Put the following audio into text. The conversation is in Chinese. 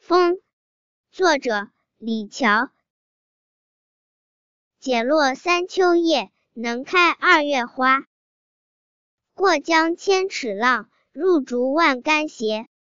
风，作者李峤。解落三秋叶，能开二月花。过江千尺浪，入竹万竿斜。